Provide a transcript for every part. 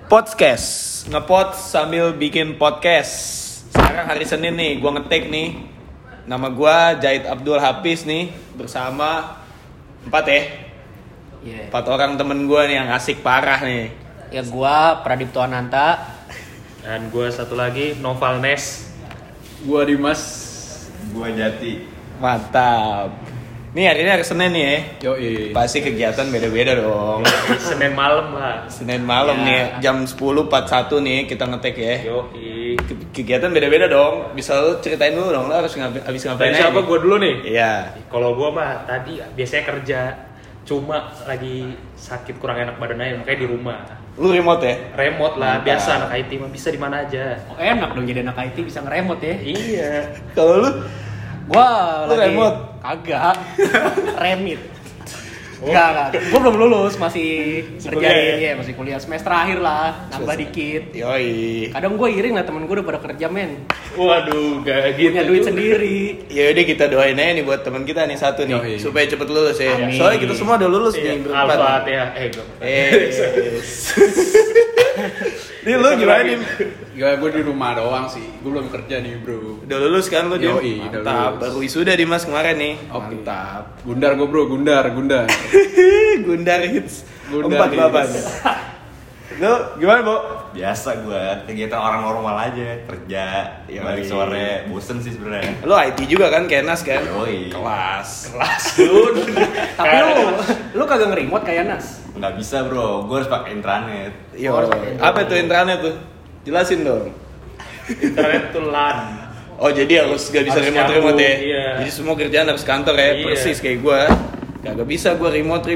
Podcast, ngepot sambil bikin podcast. Sekarang hari Senin nih, gue ngetek nih. Nama gue Jahid Abdul Hafiz nih, bersama 4 Yeah. 4 orang temen gue nih yang asik parah nih. Ya gua Pradipto Ananta. Dan gue satu lagi Noval Nes. Gua Dimas. Gua Jati. Mantap. Nih hari ini hari Senin nih ya. Yoi. Pasti kegiatan beda-beda dong. Senin malam lah. Senin malam nih, jam 10.41 nih kita ngetek ya. Yoi. Kegiatan beda-beda dong. Bisa lu ceritain dulu dong, lu harus habis ngapain Dari aja siapa nih? gue dulu nih? Iya. Kalau gue mah tadi biasanya kerja, cuma lagi sakit kurang enak badan aja makanya di rumah. Lu remote ya? Remote lah, Mantap. biasa anak IT mah bisa di mana aja. Oh, enak dong jadi anak IT bisa ngeremot ya. Iya. Kalau lu Gua Lu lagi remote? kagak. Remit. Enggak. Gua belum lulus, masih kerjain ya, masih kuliah semester akhir lah, nambah dikit. Yoi. Kadang gua iring lah temen gua udah pada kerja men. Waduh, gak gitu. Punya duit sendiri. Ya udah kita doain aja nih buat teman kita nih satu nih Yoi. supaya cepet lulus ya. Amin. Soalnya kita semua udah lulus nih berempat. Al-Fatihah. Nih lu gimana nih? Ya gue di rumah doang sih. Gue belum kerja nih, Bro. Udah lulus kan lu, Dim? Yoi, udah Mantap. lulus. Baru wisuda Dimas kemarin nih. Oke. Mantap. Gundar gue, Bro. Gundar. Gundar hits. Gundar 4 hits. baban. Lu gimana, Bo? Biasa gua kegiatan orang normal aja, kerja, Yoi. balik sore, bosen sih sebenarnya. Lu IT juga kan, Kenas kan? Yoi. Kelas. Tapi lu kagak nge-remote kayak Nas. Nggak bisa bro, gua harus pakai intranet. Yo. Apa tuh intranet tuh? Jelasin dong. Internet tuh LAN. Oh jadi harus gak bisa Harus remote ya? nyambung, iya. Jadi semua kerjaan harus kantor ya, Iya. persis kayak gue. Gak bisa gue remote.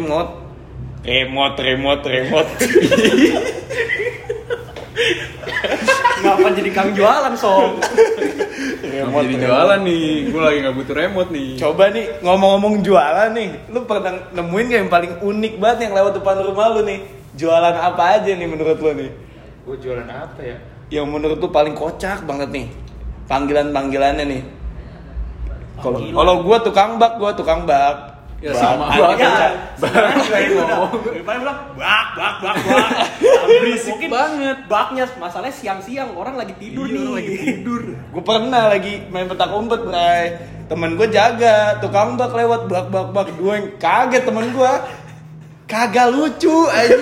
Ngapa jadi kang jualan, Sob? Remote jadi jualan nih. Gue lagi nggak butuh remote nih. Coba nih ngomong-ngomong jualan nih, lu pernah nemuin gak yang paling unik banget yang lewat depan rumah lu nih? Jualan apa aja nih menurut lu nih? Gue jualan apa ya? Yang menurut lu paling kocak banget nih? Panggilannya nih. Kalau gue tukang bak. Ya, Bak. sama. Bak. Ya. Daripada bilang bak. Berisik banget. Baknya masalahnya siang-siang orang lagi tidur nih. Gue pernah lagi main petak umpet, Bray. Temen gue jaga, tukang bak lewat bak. Gue yang kaget temen gue. Kagak lucu aja.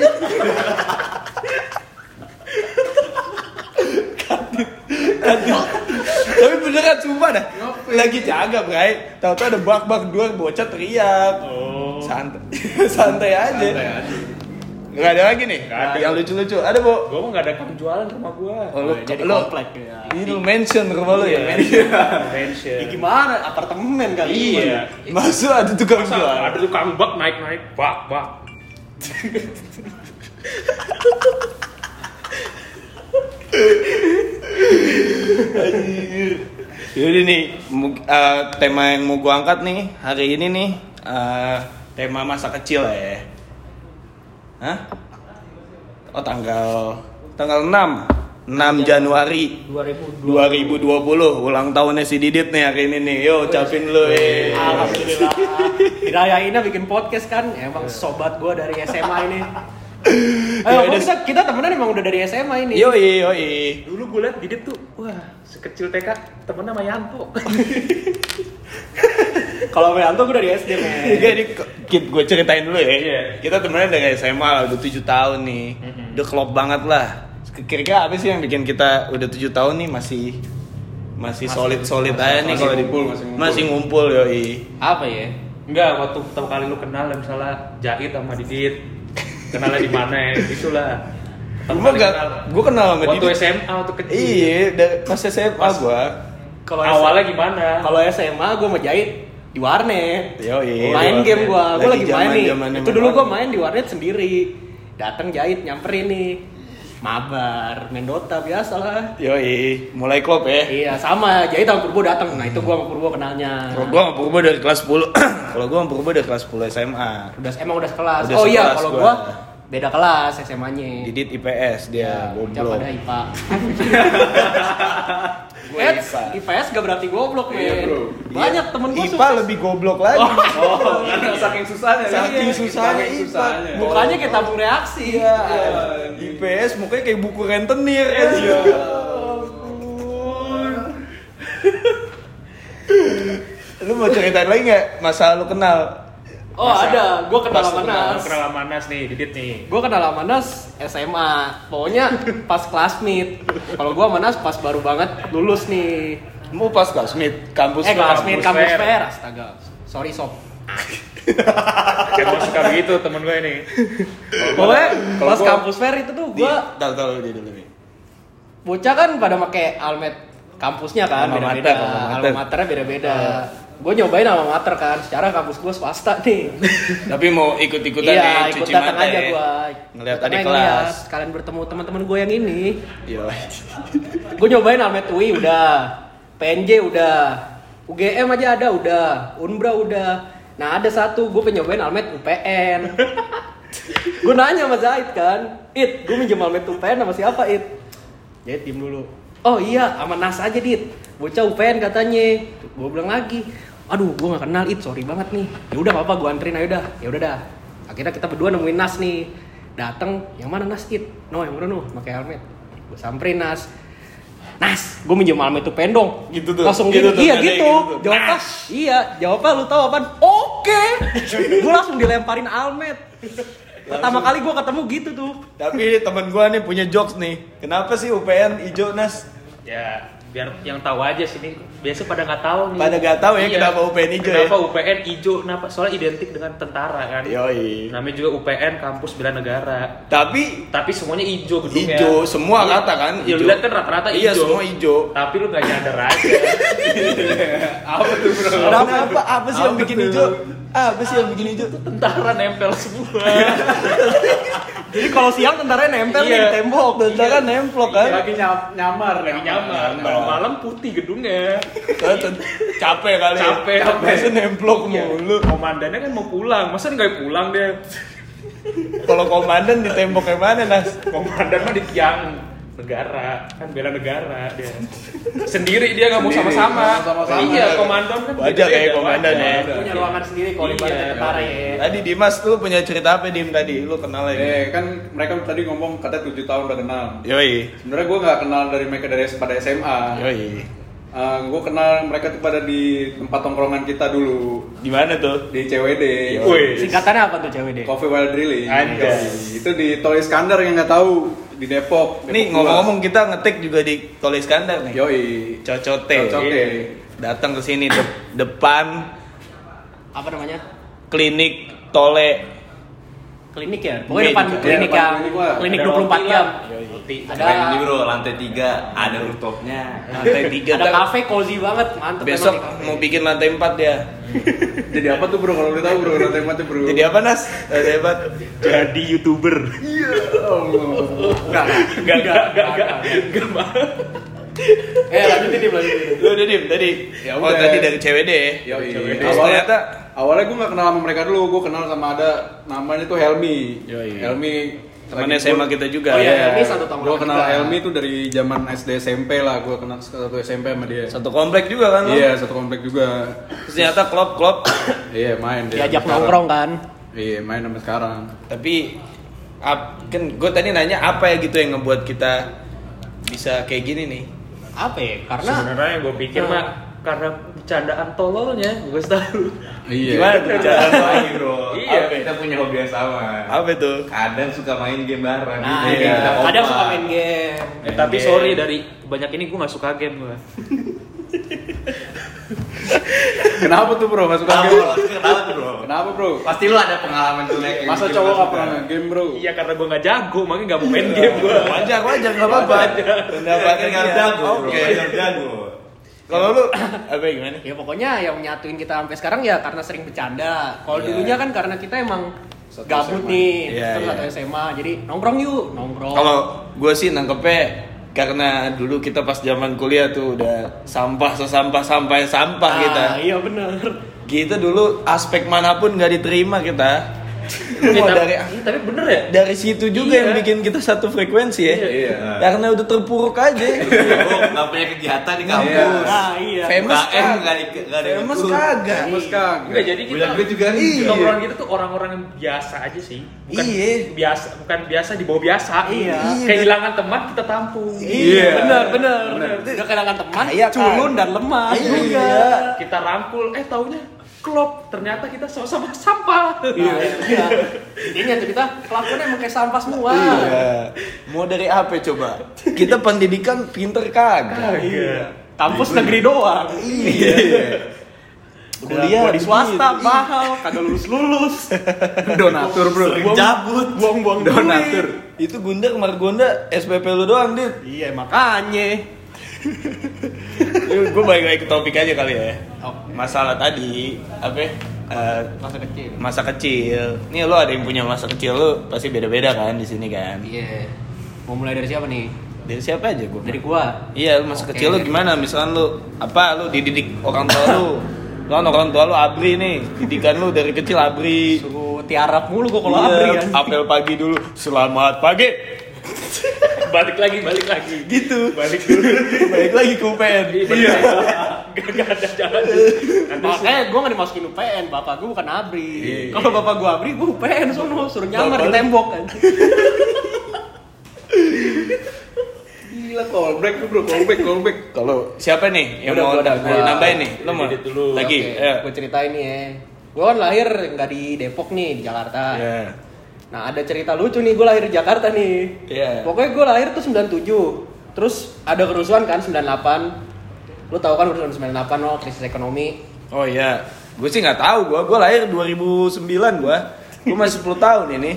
Tapi beneran sumpah dah. Lagi jaga, Bray. Tahu-tahu ada bak dua bocah teriak. Oh. Santai aja. Gak ada lagi nih. Nggak ada. Yang lucu-lucu. Ada, Bo? Gue mah gak ada kang jualan rumah gue. Oh, lu Jadi lu komplek ya. ini lu mention rumah lu ya, Iya. mention. Mention. Ya gimana? Apartemen kali. Iya. Masuk ada tukang Masa jual. ada tukang bak naik bak. Jadi nih tema yang mau gua angkat nih hari ini nih tema masa kecil ya. Hah? Oh tanggal 6 Januari 2020 ulang tahunnya si Didit nih hari ini nih. Yo ucapin lu Alhamdulillah. Dirayainnya bikin podcast kan. Emang sobat gua dari SMA ini. Ya Ayo, udah. kita temenan emang udah dari SMA ini. Yoi. Dulu gue liat Didit tuh, wah sekecil TK temennya sama Yanto. Kalau sama Yanto gue dari SD, men. Jadi gue ceritain dulu ya. Iya. Kita temenan dari SMA lah, udah 7 tahun nih. Udah klop banget lah. Kira-kira apa sih yang bikin kita udah 7 tahun nih masih solid aja nih masih kalau ngumpul, masih ngumpul yoi. Apa ya? Enggak, waktu pertama kali lu kenal misalnya Jahid sama Didit. Kenalnya di mana ya? Itulah. Gue kenal sama waktu Didit. SMA waktu kecil. Iya, pas SMA gue. Kalau Awalnya gimana? Kalau SMA gue mau jahit di warnet. Yoi. Main game gue lagi main nih. Zaman-zamannya Itu dulu main gue main di warnet sendiri. Datang jahit nyamperin nih. Mabar, main Dota biasa lah. Yoi, mulai klop ya. Iya, sama. Jahit sama Purbo datang. Nah, itu gue sama Purbo kenalnya. Kalau gue sama Purbo dari kelas 10. Kalau gue sama Purbo dari kelas 10 SMA. Emang udah sekelas. Udah Oh iya, sekelas kalau gua. gua beda kelas SMA-nya. Didit IPS dia Bocah goblok. pada IPA. Gue IPA. IPS gak berarti goblok, men. Iya, bro. Banyak temen gue IPA lebih goblok lagi. Oh, karena saking susahnya. Saking susahnya Saking IPA. mukanya kayak tabung reaksi. Iya. IPS mukanya kayak buku rentenir kan. Iya. Lu mau ceritain lagi nggak masa lu kenal? Oh ada, gue kenal Pas sama lu kenal, Nas. Kenal sama Nas nih, Didit nih. Gue kenal sama Nas SMA. Pokoknya pas classmate. Kalau gue sama Nas pas baru banget lulus nih. Mau pas classmate, kampus Classmate kampus fair. fair. Astaga. Sorry sob. Emang suka begitu temen gue nih. Pokoknya kalau pas gua- kampus fair itu tuh gue Tahu dia dulu nih. bocah kan pada pakai almet kampusnya kan Alma beda-beda. mater, alma mater. Alma maternya beda-beda. Gue nyobain alma mater kan. Secara kampus gue swasta nih. Tapi mau ikut-ikutan Iya, nih ikut cuci datang mata aja ya. gue. Ngeliat adik kelas. Kalian bertemu teman-teman gue yang ini. Iya. Gue nyobain Almet UI udah, PNJ udah, UGM aja ada udah, Unbra udah. Nah ada satu gue pengen nyobain Almet UPN. Gue nanya sama Zaid kan, It, gue minjem Almet UPN sama siapa It? Zaid diem dulu. Oh iya, sama Nas aja Dit. Bocah UPN katanya. Gue bilang lagi, aduh gue gak kenal It, sorry banget nih. Ya udah gak apa, gue anterin aja udah. Ya udah dah. Akhirnya kita berdua nemuin Nas nih. Dateng, yang mana Nas It? No, yang mana no? Pakai helmet. Gue samperin Nas. Nas, gue minjem Almet UPN dong. Gitu tuh. Langsung Gitu gitu, tuh, iya ada yang gitu. gitu tuh. Jawabnya, iya. Jawabnya lu tahu apaan? Oke. Gue langsung dilemparin Almet. Pertama kali gue ketemu gitu tuh. Tapi temen gua nih punya jokes nih. Kenapa sih UPN hijau Nas? Ya, biar yang tahu aja sini. Biasa pada nggak tahu nih. Pada nggak tahu ya Iya. kenapa UPN hijau Kenapa ya? UPN hijau? Kenapa? Soalnya identik dengan tentara kan. Yoi. Namanya juga UPN Kampus Bela Negara. Tapi Semuanya hijau gedungnya. hijau semua Iya. rata kan? Ya lu lihat kan rata-rata hijau. Iya semua hijau. Tapi lu gak nyadar aja. Apa tuh, bro? Kenapa? Apa sih yang bikin hijau? Apa sih yang bikin hijau? Tentara nempel semua. Jadi kalau siang tentaranya nempel nih Iya. di tembok. Tentara nemplok kan? Lagi nyamar. Lagi nyamar. Kalau malam putih gedungnya. Capek kali. ya. Capek. Masa nemplok Iya. mulu. Komandannya kan mau pulang. Masa nggak pulang dia? Kalau komandan di tembok yang mana Nas? Komandan mah di tiang negara, kan bela negara dia. Sendiri dia nggak mau Sendiri, sama-sama. nggak mau sama-sama. Iya, komandan kan Wajar beda-beda, kayak komandan wajar. ya. Punya ruangan sendiri kalau Iya. ibaratnya tentara ya. Tadi Dimas tuh punya cerita apa Dim tadi? Lu kenal lagi? Kan mereka tadi ngomong katanya 7 tahun udah kenal. Yoi. Sebenarnya gue nggak kenal dari mereka pada SMA. Yoi. Gue kenal mereka tuh pada di tempat tongkrongan kita dulu Di mana tuh? di CWD. Wih. Singkatannya apa tuh cewek deh? Coffee While Drilling. Anjay. Itu di Tol Iskandar yang nggak tahu di Depok. Nih Depok ngomong-ngomong kita ngetik juga di Tol Iskandar nih. 2. Yoi. Cocote. Cocote. Datang ke sini depan Apa namanya? klinik Tole. Klinik ya? Pokoknya Iya, depan iya, klinik depan yang klinik lah. klinik Ada 24 roti jam. lah. Roti. Ada Keren ini bro, lantai 3 ada rooftopnya. Lantai 3. ada kafe cozy banget, mantep Besok emang di kafe. mau bikin lantai 4 dia. Jadi apa tuh bro kalau boleh tahu bro lantai 4 bro? Jadi apa Nas? Lantai 4. Jadi YouTuber. Enggak. Lanjutin Dim. Lu udah Dim tadi. Ya Oh udah. tadi dari CWD. Yoi. Terus ternyata Awalnya gue nggak kenal sama mereka dulu, gue kenal sama ada namanya tuh Helmi. Yoi. Helmi teman lagi SMA gua- kita juga. Oh iya, ya. Helmi satu tahun Gue juga. kenal Helmi tuh dari zaman SD SMP lah, gue kenal satu SMP sama dia. Satu komplek juga kan lu? Iya, satu komplek juga. Terus ternyata klop. Iya, main dia. Diajak sampai nongkrong sekarang. kan. Iya, main sampai sekarang. Tapi kan gue tadi nanya apa ya gitu yang ngebuat kita bisa kayak gini nih. Apa ya? Karena Sebenarnya yang gue pikir Nah. mah karena bercandaan tololnya, gue tahu. Iya. Gimana tuh bicara Lagi bro, Iya. kita punya hobi yang sama. Apa itu? Kadang suka main game bareng. nah, Jadi iya. kita Kadang kompak. suka main game. Tapi game. sorry dari banyak ini gue nggak suka game gue. Kenapa tuh bro? Gak suka Kenapa game? bro? Kenapa tuh bro? Kenapa bro? Pasti lu ada pengalaman jelek. yang Masa bikin cowok lu gak suka. pernah game bro? Iya karena gue nggak jago, makanya nggak mau main game gue. Wajar nggak apa-apa. Pendapatnya Kan nggak dia. jago, bro. Oke. Nggak jago. Kalau lu apa gimana? Ya pokoknya yang menyatuin kita sampai sekarang ya karena sering bercanda. Kalau Iya. dulunya kan karena kita emang Satu gabut SMA. nih, Iya, terus iya. satu SMA. Jadi nongkrong yuk, nongkrong. Kalau gue sih nangkepnya karena dulu kita pas zaman kuliah tuh udah sampah kita. Iya bener. Kita dulu aspek manapun nggak diterima kita. Lu mau dari Tapi bener ya? dari situ juga Iya. yang bikin kita satu frekuensi ya. Iya. Karena udah terpuruk aja. Gue nggak punya kegiatan di kampus. Nah, iya. Famous UKM kagak. nggak ada yang Famous ikut. kagak. Mas kagak. Enggak, jadi kita Bulan gue juga nih. tongkrongan kita tuh orang-orang yang biasa aja sih. Bukan Iya. bukan biasa di bawah biasa. Iya. Kehilangan teman kita tampung. Iya. Bener. Udah kehilangan teman, Kayak culun kan. dan lemah Iya. juga. Kita rangkul, taunya klop. Ternyata kita sama-sama sampah. Iya. Intinya tuh kita kelakuannya emang kayak sampah semua. Iya. Mau dari apa coba? Kita pendidikan pinter kagak. Iya. Kampus negeri doang. Iya. Kuliah di swasta mahal, kagak lulus. Donatur, Bro. Cabut. Buang-buang Donatur. Itu Gunda Margonda SPP lu doang, Dit. Iya, makanya. Gue balik lagi ke topik aja kali ya. Oh. Masalah tadi apa ya? Masa kecil. Masa kecil. Nih lo ada yang punya masa kecil lo pasti beda-beda kan di sini kan. Iya. Mau mulai dari siapa nih? Dari siapa aja gue? Dari gua. Iya, masa Oke. kecil lo gimana? Misalkan lo apa? Lo dididik orang tua lo. Lo orang tua lo abri nih. Didikan lo dari kecil abri. Suruh tiarap mulu gua kalau Iya, abri kan. apel pagi dulu. Selamat pagi. balik lagi. Gitu. Balik dulu. Balik lagi ke UPN. Iya. Gak ada jalan. Makanya gue gak dimasukin UPN, bapak gue bukan abri. Iya. Kalau bapak gue abri, gue UPN sono, suruh nyamar di tembok kan. Gila, callback tuh, Bro. Callback. Kalau siapa nih yang Udah, mau gua udah, gua. nambahin nih? Lo mau Edit dulu. lagi? Ya. Gue ceritain nih ya. Gue kan lahir nggak di Depok nih, di Jakarta. Ya. Nah ada cerita lucu nih, gue lahir di Jakarta nih. Iya. Pokoknya gue lahir tuh 97. Terus ada kerusuhan kan 98. Lu tahu kan kerusuhan 98 lo, krisis ekonomi. Oh iya, gue sih nggak tahu. Gue lahir 2009 gue masih 10 tahun ini.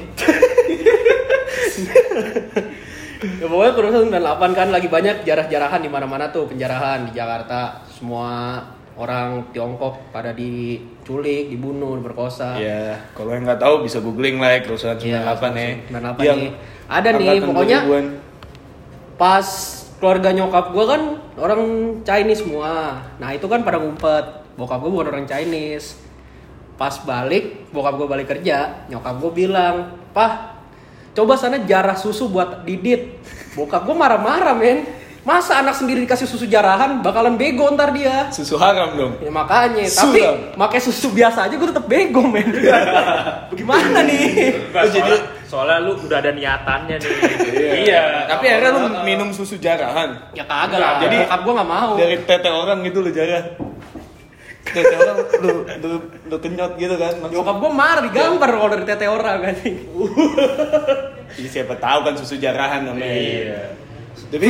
Ya pokoknya kerusuhan 98 kan lagi banyak jarah-jarahan di mana-mana tuh, penjarahan di Jakarta. Semua orang Tiongkok pada diculik, dibunuh, diperkosa. Iya, kalau yang nggak tahu bisa googling lah ya, kerusuhan 98 ya. 98 Yang nih. Ada nih angkatan pokoknya 2000-an. pas keluarga nyokap gue kan orang Chinese semua. Nah itu kan pada ngumpet. Bokap gue bukan orang Chinese. Pas balik, bokap gue balik kerja, nyokap gue bilang, "Pah, coba sana jarah susu buat Didit." Bokap gue marah-marah men. Masa anak sendiri dikasih susu jarahan, bakalan bego ntar dia. Susu haram dong. Ya makanya, Suram. tapi pakai susu biasa aja gue tetap bego men. Bagaimana nih? Soalnya lu udah ada niatannya nih. Iya. Tapi akhirnya lu minum susu jarahan. Ya kagak lah, Jadi- bokap gue nggak mau. Dari tete orang gitu lu jarah. Tete orang lu kenyot gitu kan. Nyokap gue marah digambar kalau dari tete orang kan. Jadi siapa tahu kan susu jarahan namanya. Iya. Tapi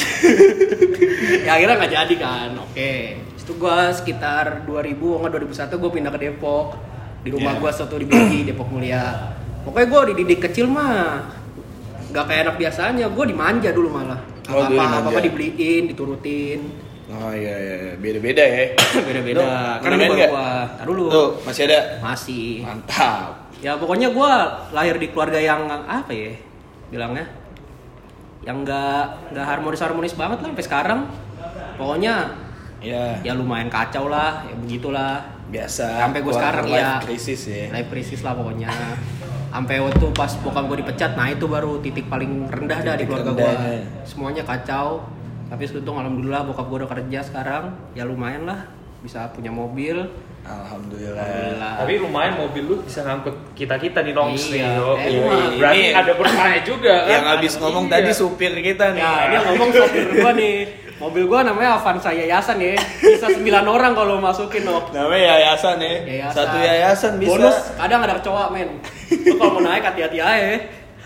Ya akhirnya nggak jadi kan. Oke. Itu gue sekitar 2000 enggak 2001 gue pindah ke Depok. Di rumah Iya. gue satu di BI Depok Mulia. Pokoknya gue dididik kecil mah nggak kayak anak biasanya. Gue dimanja dulu malah. Oh, dulu dimanja. Apa dibeliin, diturutin. oh iya, beda-beda ya. Beda-beda. Lu Kan main ini nggak? gua. Tar dulu. Tuh, masih ada. Masih. Mantap. Ya pokoknya gue lahir di keluarga yang apa ya bilangnya, yang nggak harmonis banget lah sampai sekarang. Pokoknya Ya, ya lumayan kacau lah, ya begitulah. biasa. Sampai gue Quarter sekarang life ya krisis ya. life crisis lah pokoknya. Sampai waktu pas bokap gue dipecat, nah itu baru titik paling rendah dah di Titik keluarga gue. rendahnya. Semuanya kacau. Tapi seuntung alhamdulillah bokap gue udah kerja sekarang, ya lumayan lah bisa punya mobil. Alhamdulillah. Alhamdulillah. Tapi lumayan mobil lu bisa ngangkut kita nih nongs nih. Iya. Oke. Emang. Berarti Ini- ada berkahnya juga kan. Yang habis ngomong Iya. tadi supir kita nih. Ya, ini yang ngomong sopir gua nih. Mobil gua namanya Avanza Yayasan ya. Bisa 9 orang kalau masukin loh. Namanya yayasan ya. Yayasan. Satu yayasan bisa. Bonus kadang ada kecoa men. Lu kalau mau naik hati-hati aja.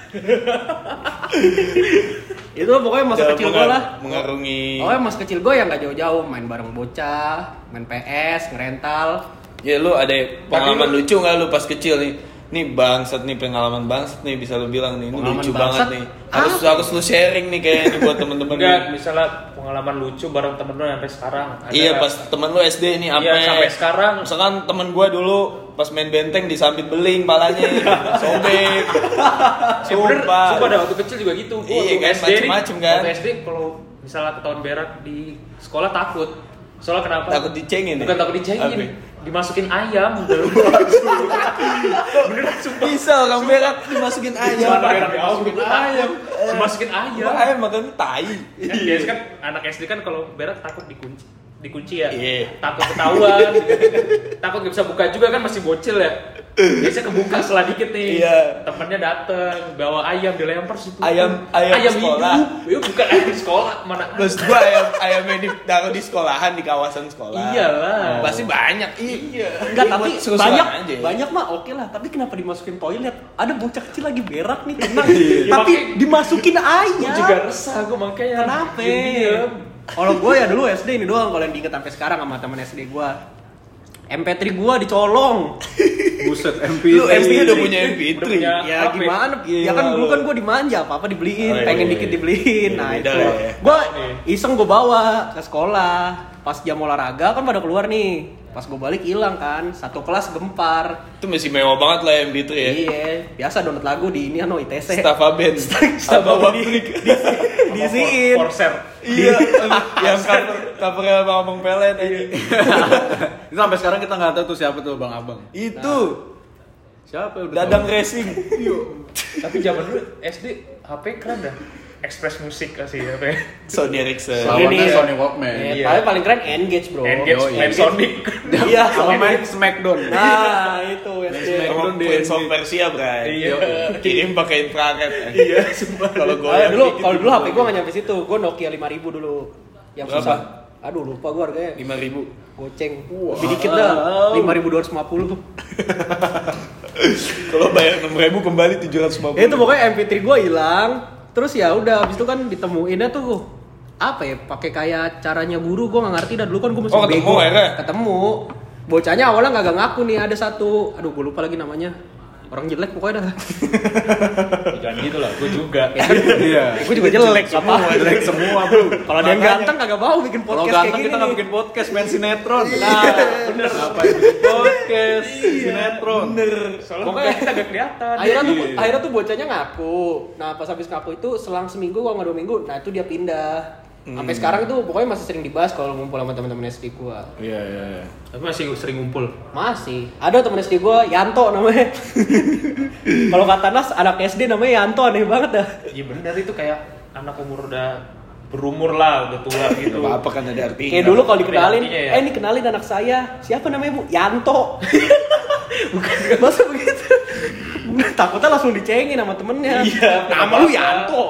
Itu pokoknya masa Jangan kecil gua lah. mengarungi. Pokoknya masa kecil gua yang gak jauh-jauh main bareng bocah, main PS, ngerental. Ya lu ada pengalaman lu- lucu nggak lu pas kecil nih? Nih bangsat nih, pengalaman bangsat nih bisa lu bilang nih. Ini Pengalaman lucu bangsat? banget nih. Harus lu sharing nih kayaknya nih buat temen-temen Enggak, nih. misalnya pengalaman lucu bareng temen lu sampai sekarang. Ada- Iya pas temen lu SD nih Iya, sampai sekarang. Misalkan temen gua dulu pas main benteng disambit beling palanya sobek. Bener, Sumpah. sumpah ada waktu kecil juga gitu. Gua Iya waktu kan, SD nih, macem-macem kan. Waktu SD kalau misalnya ketahuan berak di sekolah takut. Soalnya kenapa? Takut dicengin ya? Bukan takut dicengin. Apa? dimasukin ayam gitu. Beneran sumpah. Bisa orang berak dimasukin ayam. Dimasukin ayam. Ayam makan tai. Kan biasa kan anak SD kan kalau berak takut dikunci ya. Iya. Takut ketahuan. Takut gak bisa buka juga kan masih bocil ya. Biasanya kebuka setelah dikit nih. Iya. Temennya dateng bawa ayam dilempar situ. Ayam sekolah. Hidup. Ya bukan ayam sekolah mana. Terus gua ayam yang ditaruh di sekolahan, di kawasan sekolah. Iyalah. Pasti banyak. Iya. Enggak, tapi Seru-seruan aja. banyak mah oke lah. Tapi kenapa dimasukin toilet? Ada bocah kecil lagi berak nih, tenang. Iya, Tapi makanya- dimasukin Gue ayam. juga resah gue makanya. Kenapa? Diem-diem. Kalau gue ya dulu SD ini doang, kalau yang diinget sampai sekarang sama teman SD gue. MP3 gue dicolong. Buset, Lu SD udah punya MP3. Udah punya. Ya HP. gimana? Ya kan dulu kan gue dimanja, apa dibeliin, Oh, iya, pengen iya, dikit iya. dibeliin. Nah Beda itu, lah ya. gue iseng gue bawa ke sekolah. Pas jam olahraga kan pada keluar nih. Pas gue balik hilang kan, satu kelas gempar. Itu masih mewah banget lah MP3 ya. Iya, biasa download lagu di ini ITC. Staffa Band. Staffa Abang Band. Pabrik. Diisiin. Forser. Iya, yang covernya Abang Pelet aja. Itu sampai sekarang kita nggak tahu tuh siapa tuh Bang Abang. Itu Siapa udah Dadang tahu? Racing. Tapi zaman dulu SD HP keren dah. Express Musik kasih HP. Sony Ericsson. Lawannya Ini ya. Sony Walkman. Iya. Tapi paling keren Engage bro. Engage Oh, iya. main Sonic. Iya, Sama main Smackdown. Nah itu SD. Sama Prince of Persia, Bray. Iya. Kirim pakai infrared. Iya, sumpah. Kalau gue Kalau dulu HP gue nggak nyampe situ, gue Nokia 5000 dulu. Yang Berapa? susah. Aduh lupa gue harganya. 5.000. Goceng. Lebih dikit dah. 5250. Kalau bayar 6.000 kembali 750. Ya itu pokoknya MP3 gue hilang. Terus ya udah, habis itu kan ditemuinnya tuh apa ya? Pakai kayak caranya guru, gue nggak ngerti dah dulu kan gue masih Oh, ketemu bego. akhirnya? Ketemu. Bocahnya awalnya nggak ngaku nih, ada satu. Aduh gue lupa lagi namanya. Orang jelek pokoknya dah. Jangan gitu lah, gue juga. Iya. Gue juga jelek apa? Jelek semua, Bro. Kalau ada yang ganteng kagak mau bikin Kalau podcast kayak ganteng gini. kita nggak nih. bikin podcast, main sinetron. Nah, bener. Ngapain bikin podcast, sinetron. Soalnya Pokoknya kita gak kelihatan. akhirnya tuh bocahnya ngaku. Nah pas habis ngaku itu selang seminggu kalau nggak 2 minggu, nah itu dia pindah. Sampai sekarang itu pokoknya masih sering dibahas kalau ngumpul sama teman-teman SD gua. Iya, iya. Tapi masih sering ngumpul. Masih ada teman SD gua Yanto namanya. Kalau kata Nas anak SD namanya Yanto, aneh banget dah. Iya benar, itu kayak anak umur udah berumur lah, udah tua gitu. Gak apa-apa kan ada artinya. Kayak dulu kalau dikenalin, artinya ya. ini kenalin anak saya. Siapa namanya Bu? Yanto. Bukan, masa begitu? Takutnya langsung dicengin sama temennya. Iya, Nama lu apa-apa. Yanto.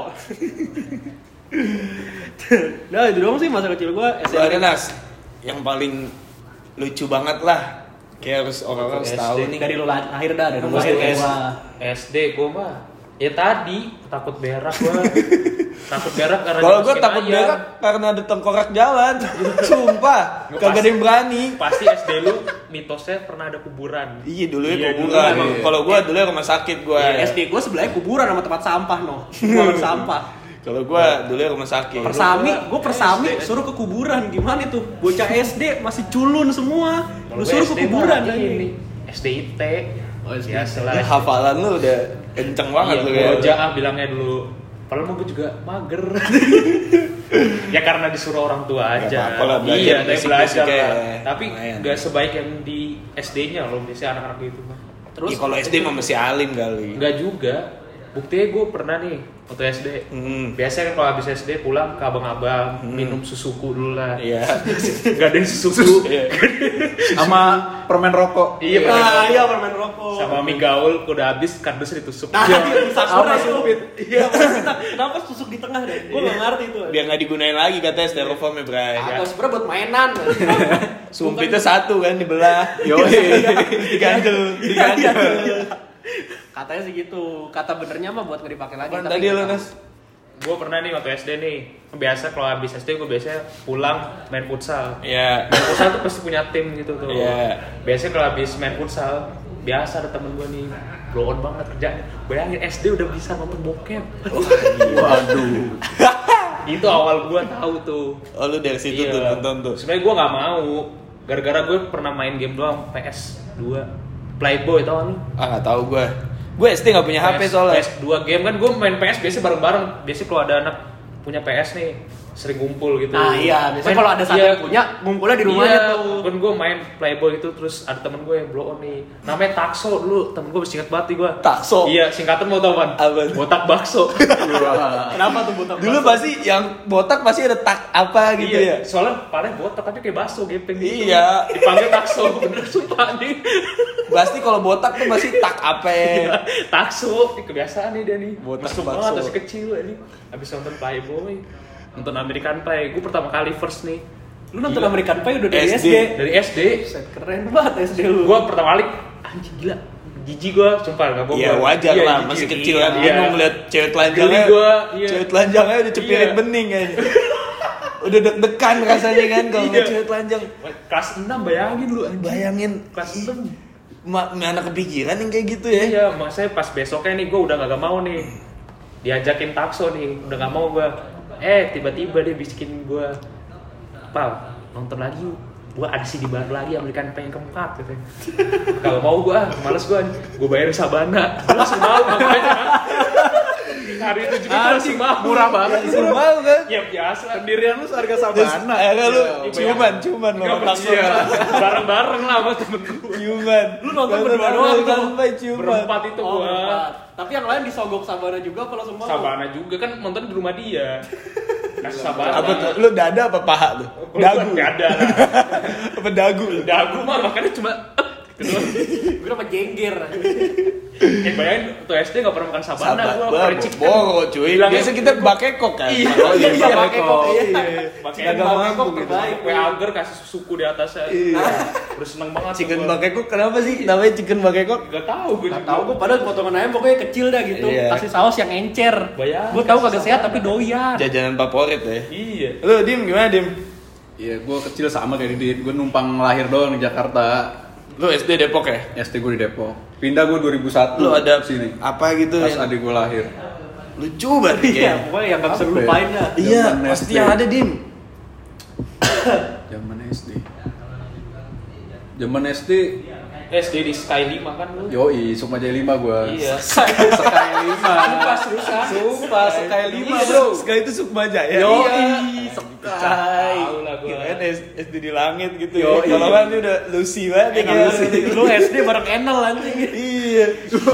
Nah itu doang sih masa kecil gua Lu ada Nas yang paling lucu banget lah. Kayak harus orang-orang harus tahu nih. Dari lu lahir dah, dari lu Pas lahir SD, gua. SD gue mah ya tadi takut berak gue. Takut berak karena Kalau gue dimasukin takut ayam. berak karena ada tengkorak jalan. Sumpah, Gua kagak ada yang berani. Pasti SD lu mitosnya pernah ada kuburan. Iya dulu ya Iya, kuburan. dulu emang. Kalau gue dulu ya rumah sakit gue. SD gua sebelahnya kuburan sama tempat sampah buangan sampah. Kalau gue dulu ya rumah sakit. Persami suruh ke kuburan, gimana itu? Bocah SD masih culun semua. Lu Kalau suruh ke SD kuburan mah ini. ini SDIT. Biasalah. Ya, hafalan lu udah kenceng banget Iya, lu gua ya. aja bilangnya dulu. Padahal mah gue juga mager. Ya karena disuruh orang tua Gak aja. apa-apa lah, belajar Iya, tapi basic-basic belajar lah. ya. Tapi Lumayan. gak sebaik yang di SD-nya loh, biasanya anak-anak gitu mah. Terus Ya, kalau SD mah masih alim kali. Enggak juga. Buktinya gue pernah nih waktu SD. Biasanya kan kalau habis SD pulang ke abang-abang minum susuku dulu lah. Iya. Gak ada yang susu. Iya. Sama permen rokok. Iya, iya permen rokok. sama mie gaul udah habis kardusnya ditusuk. Nah, itu sakura Sama itu. supit. Iya, kenapa susuk di tengah deh? Gua enggak ngerti itu. Biar nggak digunain lagi katanya styrofoam ya, Bray. Agak sebenarnya buat mainan. Sumpitnya satu kan dibelah. Yoi. Digandel. Katanya sih gitu. Kata benernya mah buat nggak dipakai lagi. Apaan tapi tadi nggak lo, tahu. Nas? Gue pernah nih waktu SD nih, biasa kalau habis SD gue biasanya pulang main futsal. Iya. Main futsal tuh pasti punya tim gitu tuh. Iya. Biasanya kalau habis main futsal, biasa ada temen gue nih blow on banget kerjanya. Bayangin SD udah bisa nonton bokep. Waduh. Itu awal gue tahu tuh. Oh, lu dari situ tuh nonton tuh. Sebenarnya gue nggak mau, gara-gara gue pernah main game doang PS2, Playboy tau kan lu? Ah, nggak tahu gue. Gue SD nggak punya HP soalnya. PS2 game kan gue main PS biasanya bareng-bareng. Biasanya kalau ada anak punya PS nih, sering ngumpul gitu. Ah iya, biasanya kalau ada satu yang punya, ngumpulnya di rumahnya tuh. Kan gue main Playboy itu, terus ada temen gue yang blow on nih. Namanya Takso dulu, temen gue masih ingat banget nih gue. Takso? Iya, singkatan mau tau kan? Apa? Botak bakso. Kenapa tuh botak? Dulu pasti yang botak pasti ada tak apa gitu Iya, ya. soalnya padahal botak tapi kayak bakso gepeng gitu. Iya. Dipanggil Takso, bener sumpah nih. Pasti kalau botak tuh masih tak apa. Iya, Takso, ini kebiasaan nih dia nih. Botak Mesum bakso. banget masih kecil ini. Habis nonton Playboy, nonton American Pie. Gue pertama kali first nih. Lu nonton American Pie udah dari SD. SD. Dari SD. Set, keren banget SD lu. Gue pertama kali anjing gila. Jijik gue, sumpah gak bohong. Iya wajar Iya, lah, jijik. masih kecil kan. Iya. Bingung ngeliat cewek telanjangnya. Geli gua, iya. Cewek telanjangnya udah cepirin Iya. bening kayaknya. Udah deg-degan rasanya kan kalau ngeliat Iya. cewek telanjang. Kelas 6 bayangin lu anjing. Bayangin. Kelas 6. Mana kepikiran yang kayak gitu ya. Iya, makanya pas besoknya nih gue udah gak mau nih. Diajakin Takso nih, udah gak mau gue. Tiba-tiba dia bisikin gue, Pal, nonton lagi yuk. Gue ada CD baru lagi, American Pie yang keempat gitu. Kalau mau gue, males gue bayarin Sabana. Gue langsung mau makanya. Hari itu juga gue langsung mau. Murah banget. Suruh mau kan? Ya biasa. Pendirian lu seharga Terus Sabana. akhirnya lu Iya. ciuman lo. Enggak iya. Bareng-bareng lah sama temen gue. Ciuman. Lu nonton berdua doang tuh. Sampai ciuman. Berempat itu Oh, gue. berempat. Tapi yang lain disogok Sabana juga apa langsung mau? Sabana juga kan nonton di rumah dia. Kasih Sabana. Apa tuh? Lu dada apa paha tuh? Dagu. Gak ada lah. Apa dagu lu? Dagu mah makanya cuma gitu doang. Gue dapat jengger. Bayangin tuh SD gak pernah makan Sabana gue fried chicken. Boro cuy. Bilangnya Biasa kita bakekok kan. Iya. Oh iya. Iya, bakekok. Iya. Pakai Agak mampu gitu. terbaik. kue agar kasih suku di atasnya. Iya. Terus seneng banget. Chicken gua. bakekok kenapa sih namanya chicken bakekok? Gak tau gue Gak juga. tau gue padahal potongan ayam pokoknya kecil dah gitu. Iya. Kasih saus yang encer. Bayangin, Gue tahu kasih kagak sehat tapi doyan. Jajanan favorit ya. Iya. Lu Dim gimana Dim? Iya, gue kecil sama kayak Didit. Gue numpang lahir doang di Jakarta. Lu SD Depok ya? SD gue di Depok. Pindah gue 2001. Lu ada sini. apa gitu Pas yang adik gue lahir. lucu banget Iya, kayaknya. pokoknya yang gak bisa Apa ya? lupain dah. Iya, Zaman pasti SD. yang ada Dim. Zaman SD. Zaman SD. SD di Sky 5 kan lu. Yoi, Sukma Jaya 5 gue. Iya. Sky 5. Sumpah seriusan. Sumpah, Sky 5 Iya, bro. Sekali itu Sukma Jaya. Yoi, Sky. Tahu lah gua. Kirain SD di langit gitu ya. Yoi. Kalau kan dia udah Lucy banget ya. Lu SD bareng Enel anjing. Iya.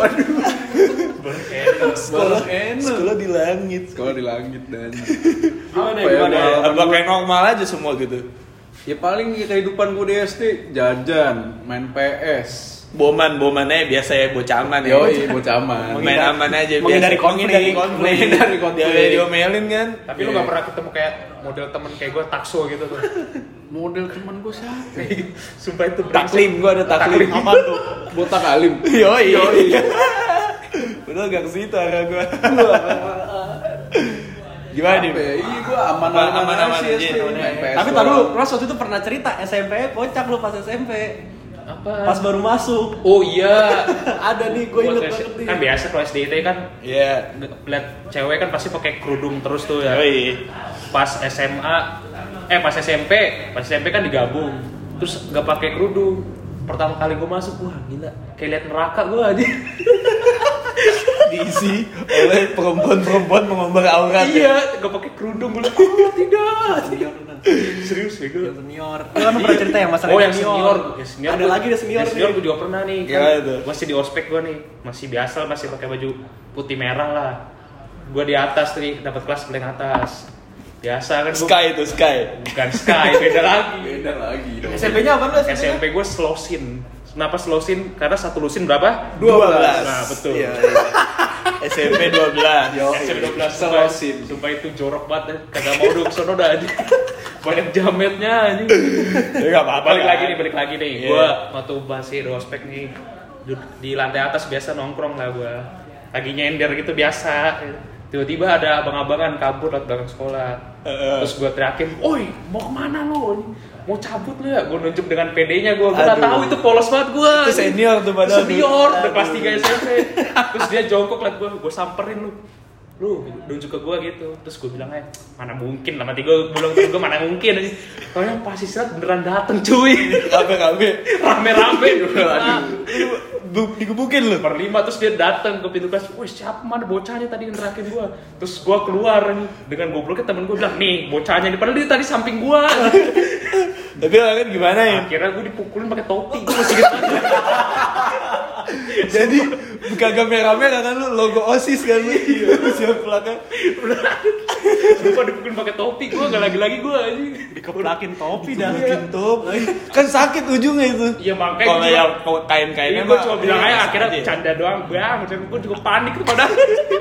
Sekolah enak. sekolah di langit. Sekolah di langit dan Gimana, Apa ya, gimana? pengalaman Apa gua? kayak normal aja semua gitu? Ya paling kehidupan gue di SD jajan, main PS. Bomannya biasa ya bocah aman ya. Yoi, bocah aman. Main aman aja menghindari biasa. konflik. Menghindari konflik. Dia diomelin kan. Tapi lu gak pernah ketemu kayak model temen kayak gue Takso gitu tuh. Model teman gue siapa? Sumpah itu Taklim gua ada taklim. Apa tuh? Botak alim. Yoi. Betul gak ke situ arah gua. Gimana Dim? Apa ya? Iya gue aman-aman Aman-aman aja aja, SD. aman-aman. Main PS Tapi doang. tadi lu Ros waktu itu pernah cerita SMP kocak lu pas SMP. Apa? Pas baru masuk. Oh iya. Ada nih gue inget banget nih. Kan biasa kalau SD itu kan Iya. lihat cewek kan pasti pakai kerudung terus tuh ya. Yoi. Pas SMA pas SMP kan digabung. Terus gak pakai kerudung. Pertama kali gue masuk, wah gila, kayak liat neraka gue aja. Diisi oleh perempuan-perempuan mengumbar aurat. Iya, gak pakai kerudung gue. Oh tidak. Serius ya gue. Yang senior. Lu kan pernah cerita yang masalah Oh yang senior. Ada lagi ada senior nih. Senior gue juga pernah nih. Gimana tuh? Masih di ospek gue nih, masih biasa, masih pakai baju putih merah lah. Gue di atas nih, dapat kelas paling atas. Biasa kan gue. Sky itu Sky. Bukan Sky, beda lagi. Beda lagi dong. SMP-nya apa lu? SMP gue Slosin. Kenapa Slosin? Karena satu lusin berapa? 12. Nah, betul. Iya, iya. SMP 12. SMP 12 Slosin. Sumpah itu jorok banget. Kagak mau dong sono dah aja. Banyak jametnya aja. Ya enggak apa-apa. Balik lagi nih. Iya. Gua waktu masih di ospek nih di lantai atas biasa nongkrong lah gua. Lagi nyender gitu biasa. Tiba-tiba ada abang-abangan kabur lewat belakang sekolah. Terus gua teriakin, "Oi, mau kemana lo? Mau cabut lu ya?" Gua nunjuk dengan PD-nya gua nggak Aduh. tahu itu polos banget gua. Itu senior tuh padahal. Senior, udah Aduh. kelas 3 SMP. Terus dia jongkok liat gua samperin lu nunjuk ke gua gitu. Terus gua bilang aja, mana mungkin lah, mati gua bilang ke gua mana mungkin aja. Soalnya pas istirahat beneran dateng cuy. Kabe. Rame-rame. Lu digebukin lu. Per 5 terus dia datang ke pintu kelas. Wih, siapa mana bocahnya tadi yang nerakin gua? Terus gua keluar dengan gobloknya temen gua bilang, "Nih, bocahnya nih." Padahal dia tadi samping gua. Tapi kan gimana ya? Akhirnya gua dipukulin pakai topi. Gua masih ingat banget. Jadi kagak merah-merah kan lu logo OSIS kan lu. Siap belakang. Gua dipukulin pakai topi. Gua enggak lagi-lagi gua anjing. Dikeplakin topi dah. Bikin top. Kan sakit ujungnya itu. Iya, makanya kalau gua yang kain-kainnya Gue cuma bilang aja sakit akhirnya ya. canda doang bang, gue juga panik tuh padahal.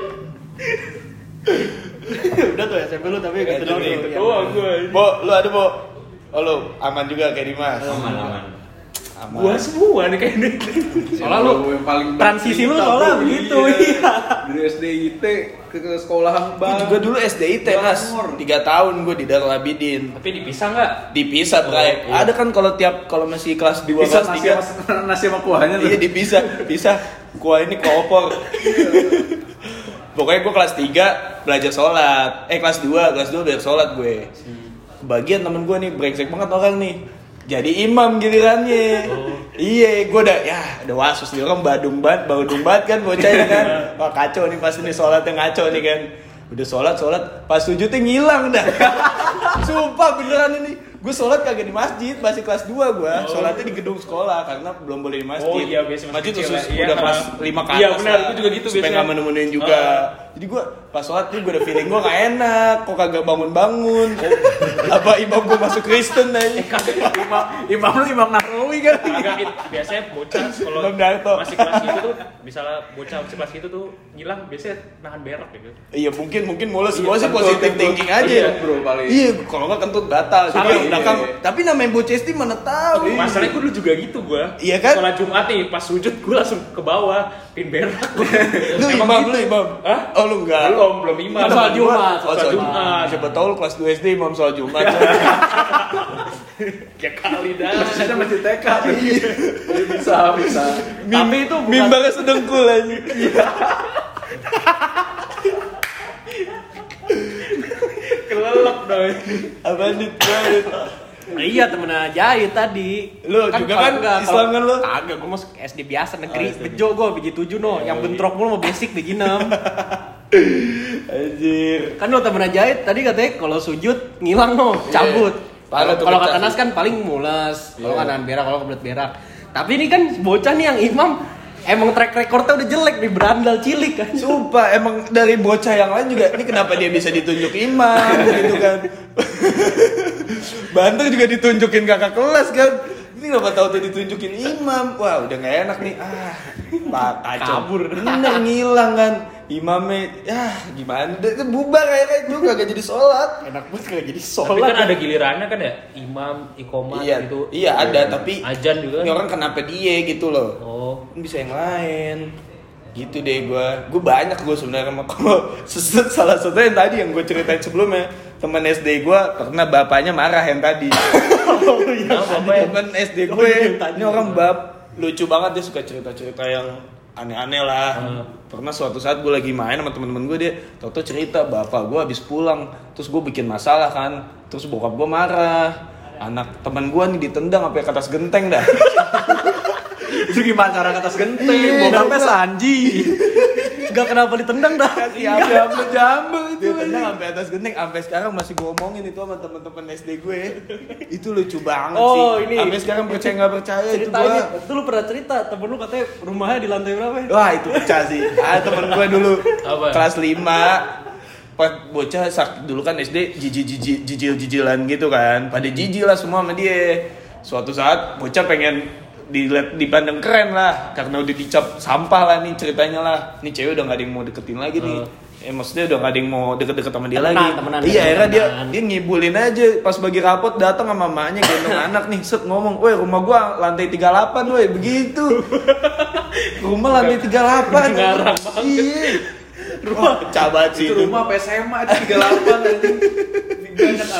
Udah tuh SMP lu tapi gitu doang. Itu tuh. Doang gue. Bo, lu ada Bo? Oh lu aman juga kayak Dimas. Aman. Gue semua nih kayaknya. Soalnya lu yang paling transisi lu bercerita, soalnya bro. begitu, Iya. iya. Dari SDIT ke sekolahan Gue bang. juga dulu SDIT Nas. 3 tahun gue di Darul Abidin. Tapi dipisah nggak? Dipisah, Bray. iya. Ada kan kalau kalau masih kelas 2 Bisa kelas 3 nasi sama kuahnya tuh. iya dipisah. Kuah ini koopor. Pokoknya gue kelas 3 belajar sholat. Kelas 2 belajar sholat gue. Kebagian temen gue nih brengsek banget orang nih. Jadi imam gilirannya. Iya, gue udah wasus nih orang badung banget kan bocahnya kan. Wah kacau nih pas ini sholatnya ngaco nih kan. Udah sholat pas sujudnya ngilang dah. Sumpah beneran ini. Gue sholat kagak di masjid, masih kelas 2 gue. Sholatnya di gedung sekolah karena belum boleh di masjid. Oh iya, biasa masjid kecil khusus ya. udah Iya. kelas 5 ke atas. Iya, benar, lah. gue juga gitu Supaya biasanya. gak menemuin juga. Jadi gue pas sholat nih gue udah feeling gue gak enak. Kok kagak bangun-bangun. Apa imam gue masuk Kristen aja. Imam lu Imam Nahrawi kan. Agak biasanya bocah kalau Bang Darto. masih kelas gitu tuh, misalnya bocah masih kelas gitu tuh ngilang biasanya nahan berak gitu. Iya mungkin mulus. Iya, Gue sih kentut, positive kentut. thinking aja. Iya, bro, paling. Iya, kalau nggak kentut batal. Jadi Iya, yang belakang. iya. Tapi namanya bocah SD mana tahu. Masalahnya gue dulu juga gitu gue. Iya kan? Sholat Jumat nih, pas sujud gue langsung ke bawah, pin berak. Lu imam, lu imam. Hah? Oh lu enggak. Belum imam. Kan sholat Jumat, Oh, sholat Jumat. Siapa tahu lu kelas 2 SD imam sholat Jumat. Ya kali dah. Masjidnya masih TK. Iya, bisa. Tapi itu bukan Mimbarnya sedengkul aja. Kelelep dong. Apaan nih? Iya temennya Jahit tadi. Lu juga kan Islam kan lu? Kagak, gue masuk SD biasa negeri. Bejo gue biji 7 no. Yang bentrok mulu mau basic biji 6. Anjir. Kan lo temennya Jahit tadi katanya kalau sujud ngilang no, cabut. Parah tuh Kalau pecah kata Nas sih. kan paling mules. Kalau Iya. kanan berak, kalau kebelet berak. Tapi ini kan bocah nih yang imam emang track recordnya udah jelek nih, berandal cilik kan. Sumpah, emang dari bocah yang lain juga, ini kenapa dia bisa ditunjuk imam gitu kan. Banter juga ditunjukin kakak kelas kan. Ini kenapa tahu tuh ditunjukin imam. Wah udah gak enak nih. Pak kacau. Kabur. Bener ngilang kan. Imamnya, gimana. Dia bubar akhirnya itu kagak jadi sholat. Enak banget gak jadi Tapi sholat. kan ada gilirannya kan ya, imam, iqomah Iya, gitu. iya ada tapi Ajan juga. ini orang kenapa dia gitu loh. Oh. Kan bisa yang lain gitu deh. Gue banyak gue sebenarnya kalau salah satu yang tadi yang gue ceritain sebelumnya, teman SD gue karena bapaknya marah yang tadi. Teman SD gue ini orang lucu banget, dia suka cerita yang aneh-aneh lah. Pernah suatu saat gue lagi main sama temen-temen gue, dia tau-tau cerita bapak gue habis pulang, terus gue bikin masalah kan, terus bokap gue marah, anak temen gue nih ditendang sampai ke atas genteng dah. Itu gimana cara ke atas genteng? Iya, Bokapnya Bang. Sanji. Gak kenapa ditendang dah. Jambu itu tendang sampai atas genteng, sampai sekarang masih gue omongin itu sama temen-temen SD gue. Itu lucu banget sih. Oh, ini. Sampai sekarang percaya nggak percaya itu Ceritanya, gue. itu lu pernah cerita temen lu katanya rumahnya di lantai berapa ya? Wah itu pecah sih. Temen gue dulu Apa? kelas 5 pas bocah dulu kan SD jijil-jijilan gitu kan. Pada jijil lah semua sama dia. Suatu saat bocah pengen dipandang keren lah karena udah dicap sampah lah nih ceritanya lah. Nih cewek udah gak ada yang mau deketin lagi nih. Maksudnya udah gak ada yang mau deket-deket sama dia lagi. Temenan, Iya akhirnya temenan. dia ngibulin aja. Pas bagi rapot datang sama mamanya gendong anak nih, set ngomong, "Woi, rumah gua lantai 38, woi." Begitu. Rumah lantai 38. Ngarang banget. Iya. Wah, pecah banget sih Itu rumah apa SMA itu 38 anjing. Banyak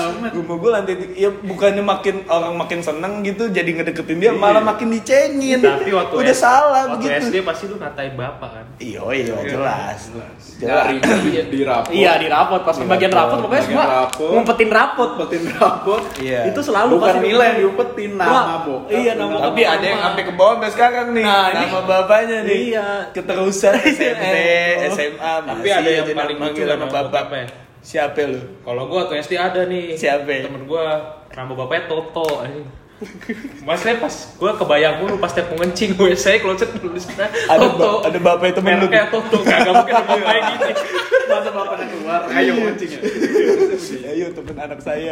Rumah gue lantai 3. Ya bukannya orang makin seneng gitu jadi ngedeketin dia, malah makin dicengin. Tapi waktu udah salah waktu begitu. SD pasti lu ngatain bapak kan. Iya jelas. Dari di rapot. Iya di rapot, pas bagian rapot pokoknya semua ngumpetin rapot. Iya. Itu selalu Bukan pasti nilai yang diumpetin, nama bokap. Iya, nama Tapi bokap ada yang mama. sampai ke bawah sampai sekarang nih. Nah, ini- nama bapaknya nih. Iya. Keterusan SMP, Oh. SMA. Tapi masih ada yang aja paling manggil lucu nama nama bapak. bapaknya. Siapa lu? Kalau gua waktu SD ada nih. Siapa? Temen gua nama bapaknya Toto. Maksudnya pas gua kebayang mulu pas tiap mau ngencing gue saya kloset nulis Toto. Ada bapaknya temen lu. Mereknya Toto. Kagak mungkin ada bapaknya gini. Masa bapaknya keluar, ayo mancing ya. Ayo temen anak saya.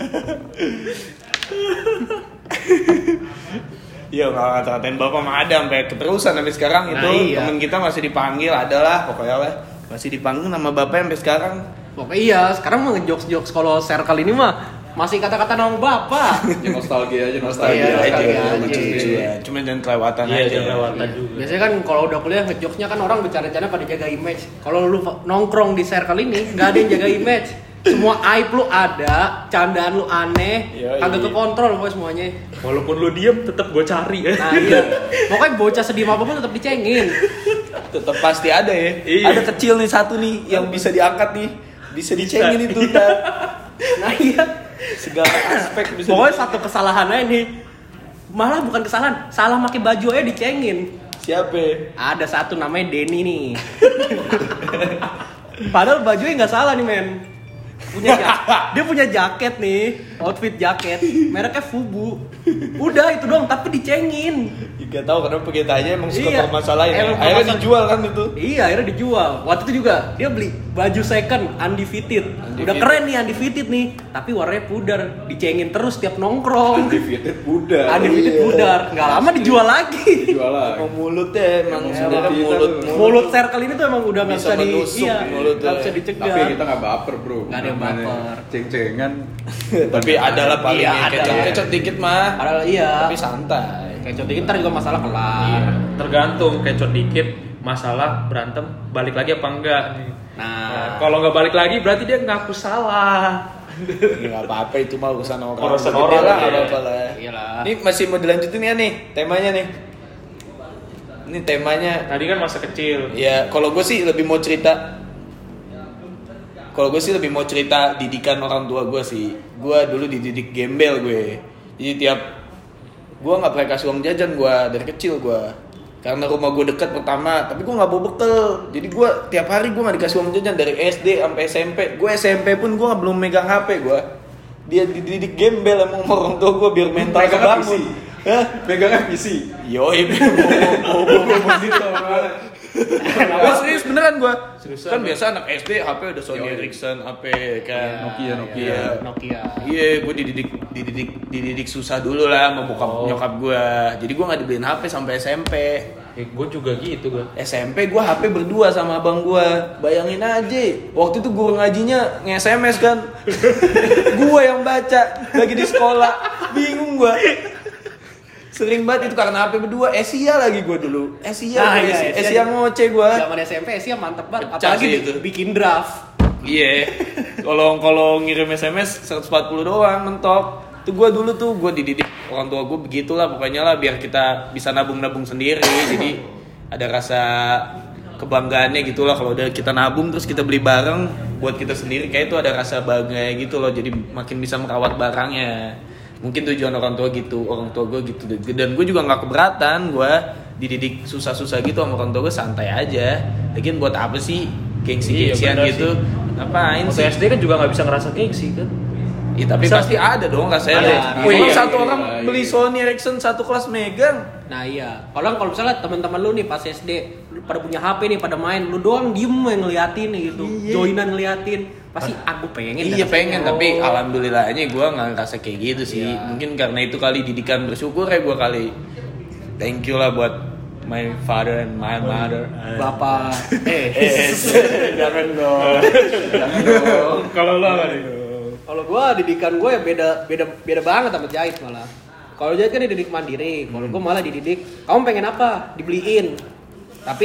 Iya nggak ngata-ngatain bapak mah ada sampai keterusan sampai sekarang Nah, itu iya. temen kita masih dipanggil adalah pokoknya lah masih dipanggil nama bapak sampai sekarang. Pokoknya iya, sekarang mah ngejokes-jokes kalau circle ini mah masih kata-kata nama bapak. Ya nostalgia aja, Iya, nostalgia aja, nostalgia aja. lucu-lucu ya. Cuma jangan kelewatan Iya, aja. jangan kelewatan juga. Biasanya kan kalau udah kuliah ngejokesnya kan orang bercanda-canda pada jaga image. Kalau lu nongkrong di circle ini nggak ada yang jaga image. Semua aib lu ada, candaan lu aneh, Yoi. kagak kekontrol pokoknya semuanya. Walaupun lu diem tetap gua cari. Nah iya, pokoknya bocah sedih apapun tetap dicengin. Tetap pasti ada ya. Iya. Ada kecil nih satu nih yang bisa diangkat nih. Bisa dicengin itu ntar. Nah iya, Segala aspek bisa pokoknya satu kesalahan aja nih. Malah bukan kesalahan, salah pakai baju aja dicengin. Siapa? Ada satu namanya Denny nih. Padahal bajunya nggak salah nih men. Dia punya jaket nih, outfit jaket, mereknya Fubu. Udah itu doang, tapi dicengin. Gak tahu kenapa kita aja emang suka Iya. permasalahin. Emang Akhirnya permasalahan. dijual kan itu. Iya, akhirnya dijual. Waktu itu juga dia beli baju second undefeated. Udah keren nih undefeated nih, tapi warnanya pudar. Dicengin terus tiap nongkrong. Undefeated Buddha. Undefeated Iya. pudar. Nggak lama dijual lagi. Jual lagi. Emang mulutnya emang Emang sebenarnya kita mulut tuh. Mulut circle ini tuh emang udah nggak Bisa bisa menusuk iya, mulutnya. nggak bisa dicegah. Tapi kita nggak baper bro. Nggak ada yang Namanya baper. Ceng-cengan. Tapi ada lah paling Iya, yang ada. kecot-kecot dikit mah. Padahal iya. Tapi santai. Kayak contoh ntar juga masalah kelar. Iya, tergantung kecot dikit masalah berantem balik lagi apa enggak nih. Nah, Kalau nggak balik lagi berarti dia ngaku salah. Ya nggak apa-apa itu mah urusan orang. Urusan Gede orang, lah, iya. nggak apa-apa lah. Iyalah. Ini masih mau dilanjutin ya nih temanya nih. Ini temanya. Tadi kan masa kecil. Ya kalau gue sih lebih mau cerita. Kalau gue sih lebih mau cerita didikan orang tua gue sih. Gue dulu dididik gembel gue. Jadi tiap gue nggak pernah kasih uang jajan gue dari kecil gue. Karena rumah gue dekat pertama, tapi gue nggak bawa bekal. Jadi gue tiap hari gue nggak dikasih uang jajan dari SD sampai SMP. Gue SMP pun gue nggak belum megang HP gue. Dia dididik gembel emang sama orang tua gue biar mental Megangnya kebangun. PC. Hah? Megangnya PC. Yoi, gue serius beneran gue. Kan biasa anak SD HP udah Sony Ericsson, HP kan Nokia. Nokia. Iya, gue dididik susah dulu lah sama bokap nyokap gue. Jadi gue nggak dibeliin HP sampai SMP. Gue juga gitu gue. SMP gue HP berdua sama abang gue. Bayangin aja, waktu itu guru ngajinya nge-SMS kan. Gue yang baca lagi di sekolah, bingung gue. Sering banget itu karena HP berdua. Asia lagi gue dulu. Nah, iya, Asia ngoceh gue. Zaman SMP sih mantep banget. Pecah Apalagi sih itu. bikin draft. Iya. Kalau ngirim SMS 140 doang mentok. Itu gue dulu tuh gue dididik orang tua gue begitulah pokoknya lah biar kita bisa nabung sendiri. Jadi ada rasa kebanggaannya gitulah kalau udah kita nabung terus kita beli barang buat kita sendiri kayak itu ada rasa bangga gitu loh. Jadi makin bisa merawat barangnya. Mungkin tujuan orang tua gitu, orang tua gue gitu. Dan gue juga nggak keberatan gue dididik susah-susah gitu sama orang tua gue santai aja. Lagian buat apa sih gengsi-gengsian bener gitu? Ngapain Waktu sih? SD kan juga nggak bisa ngerasa gengsi kan. Ya, tapi Bisa. pasti ada dong rasanya. Ada. Kalau Iya, satu iya, orang iya. beli Sony Ericsson satu kelas megang. Nah iya, kalau misalnya teman-teman lu nih pas SD lu pada punya HP nih pada main, lu doang diem yang ngeliatin nih gitu, joinan ngeliatin, pasti aku pengen. Iya dan pengen, rasanya. tapi alhamdulillahnya gue nggak ngerasa kayak gitu sih. Iya. Mungkin karena itu kali didikan bersyukur ya gue kali. Thank you lah buat my father and my mother. Bapak, Jangan dong. Kalau lo apa nih? kalau gua didikan gua ya beda banget sama Jahit malah. Kalau Jahit kan dididik mandiri, kalau gua malah dididik, kamu pengen apa? Dibeliin. Tapi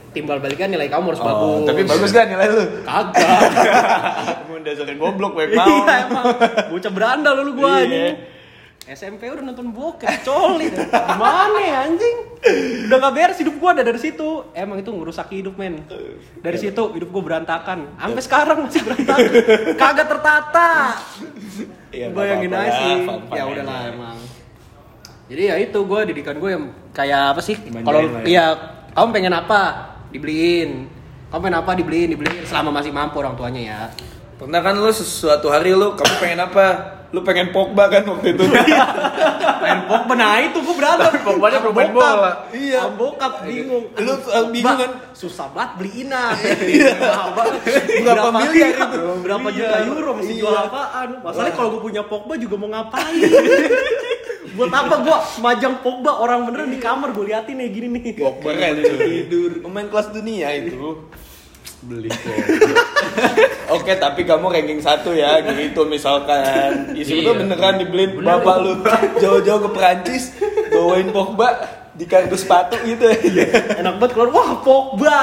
timbal balikan nilai kamu harus bagus. Tapi bagus kan nilai lu? Kagak. Kamu dasarnya goblok baik mau. Iya emang. Bocah berandal dulu gua Iya. anjing. SMP udah nonton bokep, coli. Gimana ya anjing? Udah gak beres hidup gua dari situ. Emang itu ngerusak hidup, men. Dari situ hidup gua berantakan. Sampai sekarang masih berantakan. Kagak tertata. Iya, Bayangin nggak aja apa-apa sih. lah, fun-fun Ya aja. udahlah emang. Jadi ya itu gua didikan gua yang kayak apa sih? Dimanjain Kalau lah ya. iya kamu pengen apa? Dibeliin. Kamu pengen apa? Dibeliin. Selama masih mampu orang tuanya ya. Pernah kan lu suatu hari kamu pengen apa? Lu pengen Pogba kan waktu itu. Main Pogba, nah itu gue berantem. Pogbanya Sama pemain bokap. bola. Iya. Sama bokap bingung. Lu bingung kan? Susah banget beli Ina. Mahal banget. Berapa miliar iya, itu? Berapa Iya. juta euro mesti Iya. jual apaan? Masalahnya kalau gue punya Pogba juga mau ngapain? Buat apa gue semajang Pogba orang beneran di kamar gue liatin nih gini nih. Pogba kan tidur. Pemain kelas dunia itu. Beli Oke, tapi kamu ranking 1 ya, gitu misalkan. Isu itu Iya. beneran dibeliin bapak lu jauh-jauh ke Perancis, bawain Pogba di kardus sepatu gitu. Enak banget keluar, wah Pogba.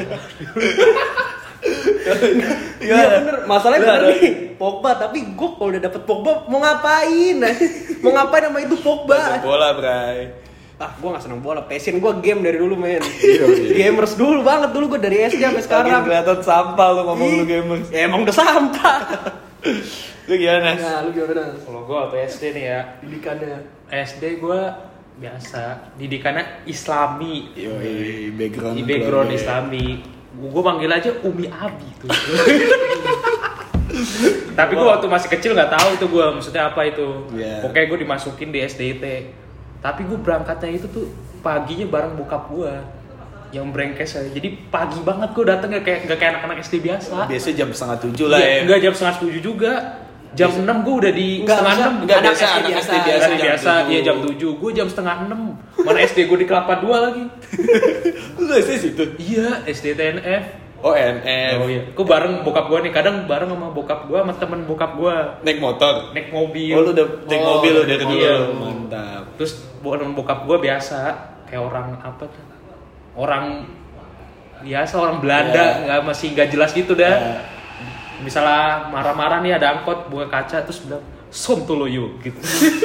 Iya bener, masalahnya Lu bener ada- nih Pogba, tapi gue kalau udah dapet Pogba mau ngapain? Mau ngapain sama itu Pogba? Bola, Bray. Ah, gue gak seneng bola, passion gue game dari dulu men. Gamers dulu banget, dulu gue dari SD sampai Makin sekarang. kelihatan sampah lu ngomong lu gamers. Ya emang udah sampah. Lu gimana? Nah, lu gimana? Kalau gue waktu SD nih ya, Didikannya. SD gue biasa, didikannya Islami. Yoi, background Di background keluarga. Islami. Gue panggil aja Umi Abi tuh. Tapi gue waktu masih kecil nggak tahu tuh gue maksudnya apa itu. Iya. Pokoknya gue dimasukin di SDIT. Tapi gue berangkatnya itu tuh paginya bareng bokap gue yang brengsek aja. Jadi pagi banget gue dateng nggak kayak anak-anak SD biasa. Biasa jam 6:30 lah ya. Enggak jam 6:30 juga. Jam 6 gue udah di Enggak, setengah maksudnya 6. Enggak, Anak biasa SD anak biasa. SD biasa Biasa, jam 7. iya jam 7. Gue jam setengah 6. Mana SD gue di Kelapa 2 lagi. Lu SD situ? Iya, SD TNF. Oh, NF. Oh iya. Gue bareng bokap gue nih. Kadang bareng sama bokap gue sama temen bokap gue. Naik motor. Naik mobil. Oh, lu udah naik mobil lu dari dulu. iya. Mantap. Terus temen bokap gue biasa kayak orang apa tuh? Orang biasa, orang Belanda, masih nggak jelas gitu dah. Ya. Misalnya marah-marah nih ada angkot buka kaca terus bilang sontoloyo gitu.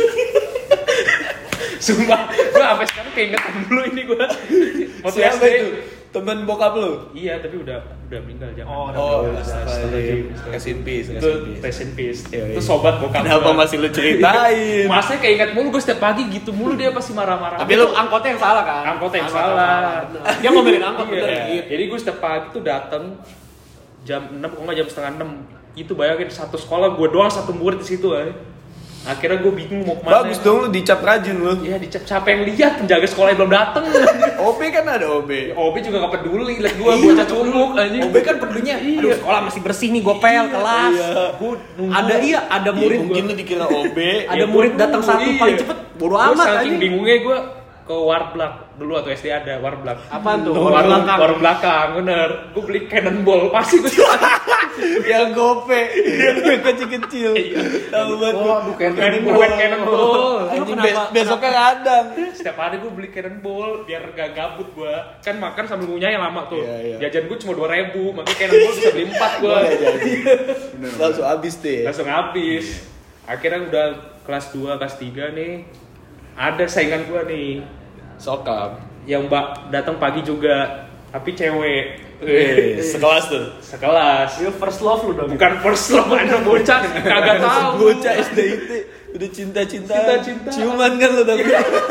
Sumpah, gue sampai sekarang keingetan dulu ini gue. Waktu Siapa SD. itu? Temen bokap lu? Iya, tapi udah meninggal jangan. Oh, astagfirullahaladzim. rest in peace, rest Itu in peace. rest in peace. Iya, iya. Itu sobat bokap. Kenapa gua. masih lu ceritain? Masnya keinget mulu gue setiap pagi gitu mulu dia pasti marah-marah. Tapi lu angkotnya yang salah kan? Angkotnya yang salah. bener. Dia ngomelin angkot Iya. bener gitu. Jadi gue setiap pagi tuh dateng jam 6 kok nggak jam setengah 6. Itu bayangin satu sekolah gue doang satu murid di situ Akhirnya gue bingung mau kemana. Bagus dong lu dicap rajin lu. Iya dicap siapa yang lihat penjaga sekolah yang belum dateng. OB kan ada OB. OB juga gak peduli liat gue bocah culuk anjing. OB kan pedulinya, aduh Iya. sekolah masih bersih nih, gue pel kelas. Gue Ada murid Mungkin lu dikira OB. ada murid datang satu Iya. paling cepet, bodo Gua amat saking anjing. bingungnya gue ke Warblak dulu atau SD ada Warblak. Apaan tuh? Warung Belakang. warung belakang bener. Gue beli cannonball pasti gue Yang gope, yang kecil-kecil. Tahu banget. Oh, aduh cannonball. Anjing, Kenapa- besoknya radang. Setiap hari gue beli cannonball biar gak gabut gue. Kan makan sambil ngunyah yang lama tuh. Iya, iya. Jajan gue cuma 2.000, makanya cannonball bisa beli 4 gue. Boleh jadi. Langsung habis deh. Langsung habis. Akhirnya udah kelas 2, kelas 3 nih. Ada saingan gue nih Sokap. yang datang pagi juga, tapi cewek. Sekelas tuh. Sekelas. Itu first love lu dong. Bukan first love, anak bocah kagak tahu. Bocah SD itu udah cinta-cinta. Cinta-cinta. Ciuman kan lu tapi.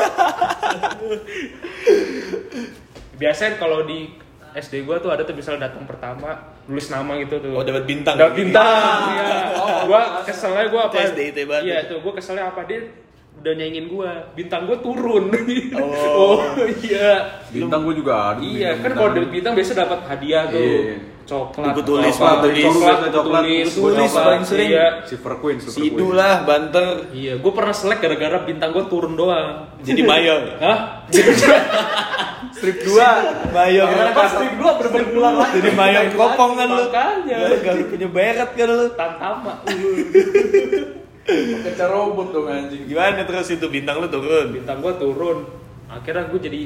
Biasanya kalau di SD gua tuh ada tuh misalnya datang pertama nulis nama gitu tuh. Oh, dapat bintang. Dapat bintang. Iya. Gua keselnya gua apa? Itu SDIT banget. Iya tuh, gua keselnya apa dia udah nyaingin gua, bintang gua turun. Oh. Iya. Bintang gue juga ada. Iya, kan kalau dapat bintang biasa dapat hadiah tuh. Iya. Coklat. Buku tulis, apa, buku tulis. coklat, Coklat, tulis, buku tulis coklat. paling sering. Iya. Silver Queen, Sidu lah, banter. Iya, gua pernah selek gara-gara bintang gua turun doang. Jadi mayor. Hah? Strip 2, mayor. Pas strip 2 bener-bener pulang lagi. Jadi mayor kopong kan lu. Makanya. Gak lu punya beret kan lu. Tantama. Pakai robot dong anjing. Gimana terus itu bintang lu turun? Bintang gua turun. Akhirnya gue jadi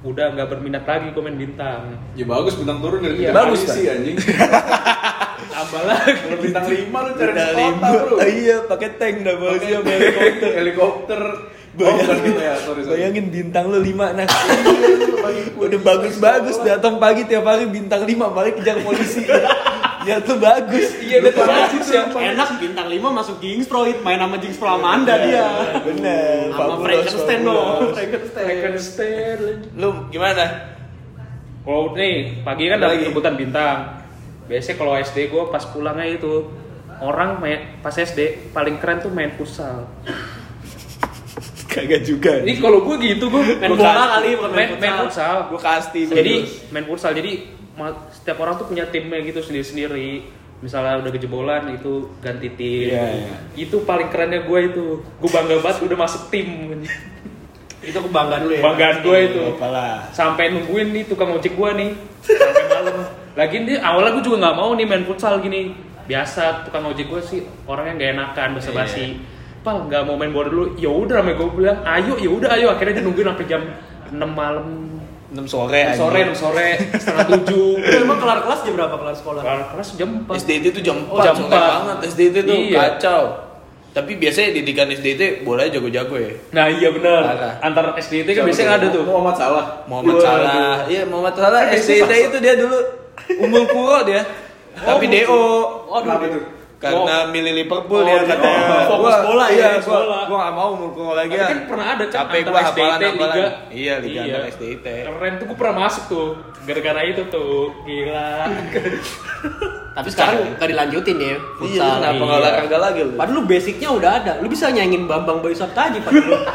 udah nggak berminat lagi gue main bintang. Ya bagus bintang turun dari Iya, bintang bagus, polisi anjing. Tambah lagi. Kalau bintang 5 lu cari Bintang kota, 5. Bro. Iya, pakai tank double Pakai siap helikopter. Helikopter. Bukan gitu ya, sorry. Bayangin bintang lu 5 nah. Udah bagus-bagus datang pagi tiap hari bintang 5 balik kejar polisi. Ya tuh bagus. Iya betul. bagus ya. Enak bintang 5 masuk Kingsproid, main sama Jinx Pramanda dia. Bener. Sama Frankenstein dong. Frankenstein. Lu gimana? Kalau nih pagi kan dapat rebutan bintang. Biasanya kalau SD gue pas pulangnya itu orang main pas SD paling keren tuh main futsal. Kagak juga. Ini kalau gue gitu gue Main bola kali, bukan main main futsal. Gue kasti. Jadi main futsal jadi setiap orang tuh punya timnya gitu sendiri-sendiri. Misalnya udah kejebolan itu ganti tim. Iya, iya. Itu paling kerennya gue itu. Gue bangga banget udah masuk tim. Itu kebanggaan lu ya. Banggaan gue itu. Apalah. Sampai nungguin nih tukang ojek gue nih sampai malam. Lagian dia awalnya gue juga nggak mau nih main futsal gini. Biasa tukang ojek gue sih orangnya nggak enakan basa-basi. Pal nggak mau main bola dulu. Ya udah namanya gue bilang ayo ya udah ayo. Akhirnya dia nungguin sampai jam 6 malam. 6 sore. 6 sore setengah 7. Itu emang kelar kelas jam berapa kelar sekolah? Kelas jam 4. SDT itu jam 4, Jam sore 4. banget SDT tuh Iya. kacau. Tapi biasanya didikan SDT bolanya jago-jago ya. Nah iya benar. Parah. Antar SDT kan biasanya ada tuh. Muhammad Salah. Muhammad Waduh. Salah. Iya, Muhammad Salah Kan SDT biasanya itu dia dulu umul kuro dia. Tapi DO. Kenapa tuh? Karena milih Liverpool ya katanya. fokus bola ya, Iya, fokus gua bola. gua enggak mau umul kuro lagi. Tapi ya. kan pernah ada kan Capek antar gua SDT, hafalan-hafalan. Liga. Iya, Liga antar SDT. Keren tuh gue pernah masuk tuh. Gara-gara itu tuh. Gila. Tapi sekarang gak dilanjutin ya Iya, futsal. kenapa enggak Iya. olahraga lagi lu? Padahal lu basicnya udah ada. Lu bisa nyanyiin Bambang Bayu Saptaji padahal.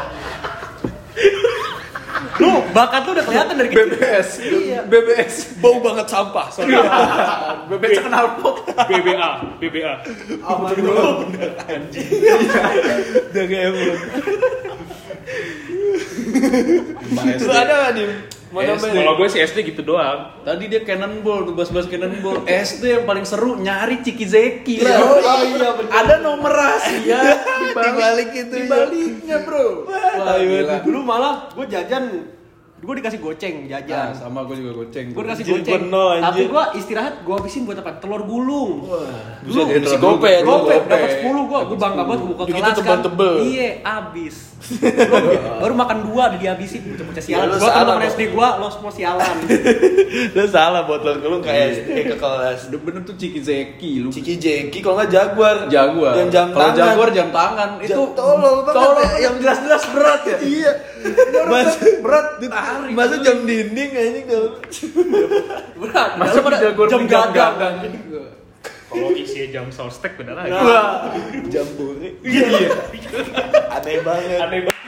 Lu bakat lu udah kelihatan dari kecil. BBS. Iya. BBS. Bau banget sampah. Sorry. BBS knalpot. BBA. Aman dulu. Udah kayak emang. Lu ada enggak nih? Mau nambahin? Kalau gue sih SD gitu doang. Tadi dia cannonball, tuh bahas cannonball. SD yang paling seru nyari Ciki Zeki lah. Oh iya bener. Ada nomor rahasia Di balik itu, Di baliknya, Bro. Wah, gila. Dulu malah gue jajan, gue dikasih goceng Nah, jajan. sama gue juga goceng. Gue dikasih Anjir, goceng. bener, anjir. Tapi gue istirahat, gue habisin buat apa? Telur gulung. Bisa Dulu, si gope ya, dulu Gope, gope. dapat 10 gue bangga banget buka Begitu kelas kan. tebel-tebel. Iya, abis. Gua baru makan 2 udah dihabisin bocah sialan. Ya, lu Gua salah, teman Bro. SD gua lo semua sialan. Lu salah buat lu ke SD ke kelas. Udah bener tuh Ciki Zeki lu. Ciki Jeki kalau nggak Jaguar. Jaguar. Yang jam Kalau tangan. Jaguar jam tangan itu tolol banget. tolol Ya. yang jelas-jelas berat ya. Iya. Mas berat Ditarik. Masa jam dinding anjing kalau. Berat. Masa Dalam ada Jaguar jam beli jam gagang. gagang. Kalau isinya jam solstek bener aja. Wah, jambore. Iya. Aneh banget. Aneh banget.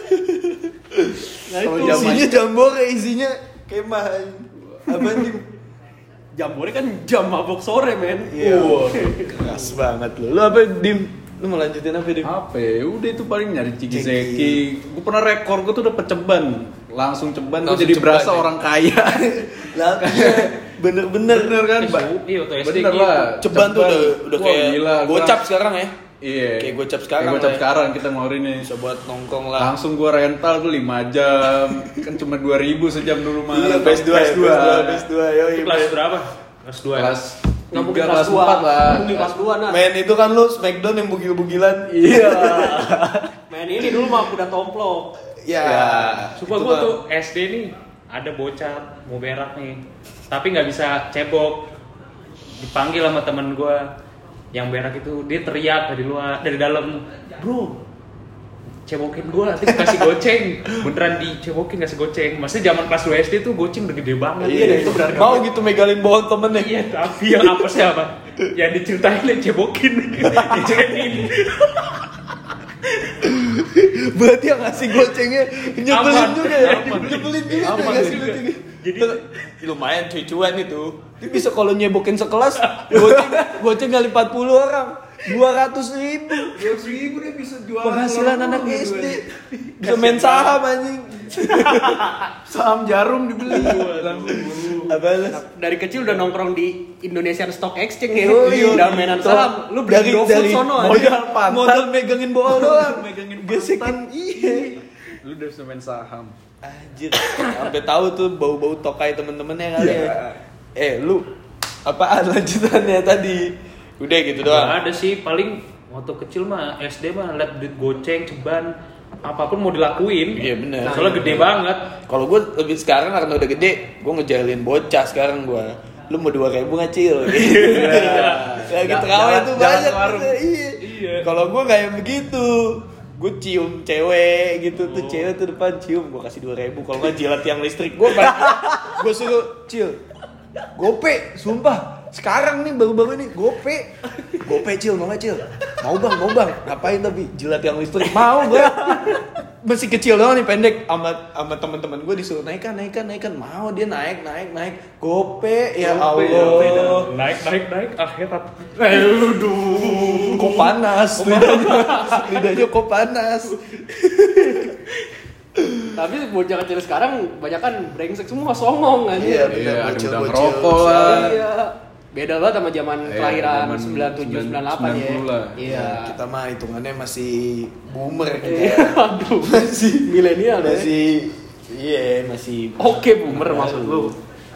Nah, Kalau itu zaman- Isinya jambore, isinya kemah. Apa nih? jambore kan jam mabok sore, men. Iya. Keras banget lu. Lu apa Dim? Lu mau lanjutin apa Dim? Apa ya? Udah itu paling nyari Ciki Zeki. Gue pernah rekor gue tuh udah ceban. Langsung ceban gue Langsung jadi ceban, berasa ya? orang kaya. Lah, bener-bener. Bener kan? Iya, waktu SD Bener gitu. lah. Ceban tuh udah Wah, kayak gila, gua gocap sekarang ya. Iya. Kayak gocap sekarang Kayak gocap lah ya. sekarang kita ngeluarin nih. Bisa buat nongkrong lah. Langsung gua rental tuh 5 jam. Kan cuma 2.000 sejam dulu mah. Iya, best 2 ya, best 2. Yo, Itu kelas berapa? Kelas 2. Kelas Nggak mungkin 3, kelas kelas 2. 4 lah. Mungkin kelas 2 nah. Main itu kan lu Smackdown yang bugil-bugilan. Iya. Main ini dulu mah kuda tomplok. Ya. Sumpah itu gue mah. tuh SD nih ada bocah mau berak nih, tapi nggak bisa cebok. Dipanggil sama temen gue yang berak itu, dia teriak dari luar, dari dalam, bro, cebokin gue nanti kasih goceng. Beneran dicebokin kasih goceng. Maksudnya zaman kelas 2 SD tuh goceng udah gede banget. Iya, dan itu berharga. Mau gitu megalin bawah temennya. Iya, tapi yang apa sih apa? Yang diceritain yang cebokin, dicekin. Berarti yang ngasih gocengnya nyebelin Aman. juga ya. Aman. Nyebelin juga Aman tuh ngasih juga. gocengnya. Jadi lumayan cucuan itu. Dia bisa kalau nyebokin sekelas goceng kali 40 orang. 200.000. 200.000 dia bisa jual. Penghasilan anak SD. Bisa main saham anjing. Saham jarum dibeli. Apa lu? Dari kecil udah nongkrong di Indonesian Stock Exchange ya. Iya, Udah mainan saham. Lu dari beli GoFood dari sono aja. modal pantat, modal megangin bola doang. Megangin gesekin iya. Lu udah bisa main saham. Anjir, sampai tahu tuh bau-bau tokai temen-temennya kali ya. Lu apaan lanjutannya tadi? Udah gitu doang. Gak ada sih, paling waktu kecil mah SD mah liat duit goceng, ceban, apapun mau dilakuin. Iya bener. Soalnya gede banget. Kalau gue lebih sekarang karena udah gede, gue ngejalin bocah sekarang gue. Lu mau 2.000 ngacil? Lagi terawih tuh banyak. Iya. Kalau gue nggak yang begitu. Gue cium cewek gitu tuh, cewek tuh depan cium, gue kasih 2.000. Kalau nggak jilat yang listrik, gue suruh cil, gope, sumpah. Sekarang nih baru-baru ini gope cil, mau nggak cil? Mau bang, ngapain tapi jilat yang listrik? Mau gue. Masih kecil doang nih, pendek. Sama teman-teman gue disuruh naikkan. Mau dia naik. Gope, ya Allah. Naik akhirat. Kok panas? Lidahnya kok panas? Tapi bocah kecil sekarang banyak kan brengsek semua, songong aja. Iya, Iya, ada bocil. udah ngerokok lah. Iya. Beda banget sama zaman kelahiran zaman 97 98 ya. 90 lah. Iya. Kita mah hitungannya masih boomer gitu Iya, ya. aduh, masih milenial ya. Masih Oke, boomer maksud lu.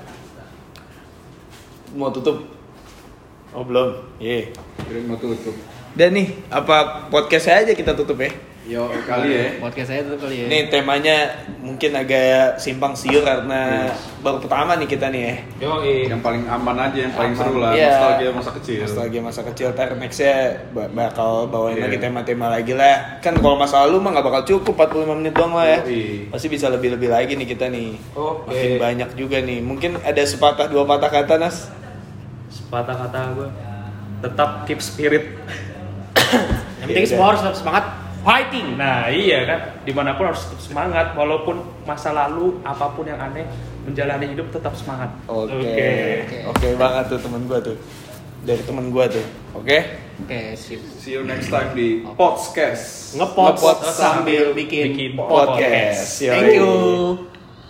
mau tutup. Oh belum. Iya. Kira mau tutup. Dan nih, apa podcast aja kita tutup ya? Yo kali ya. Podcast saya tuh kali ya. Nih temanya mungkin agak simpang siur karena baru pertama nih kita nih ya. Yang paling aman aja, yang paling Aman. seru lah. Iya. Nostalgia masa kecil. Nostalgia masa kecil. Ntar nextnya bakal bawain Iya. lagi tema-tema lagi lah. Kan kalau masa lalu mah gak bakal cukup 45 menit doang lah ya. Yoi. Pasti bisa lebih-lebih lagi nih kita nih. Oke. Makin banyak juga nih. Mungkin ada sepatah dua patah kata Nas. Sepatah kata gue, tetap keep spirit. Yang penting semua harus tetap semangat fighting. Nah iya kan, dimanapun harus tetap semangat. Walaupun masa lalu, apapun yang aneh, menjalani hidup tetap semangat. Oke banget tuh temen gue tuh. Dari temen gue tuh. Oke. Oke, sip. See you next time di podcast. Ngepot Ngepot sambil bikin bikin podcast. Thank you.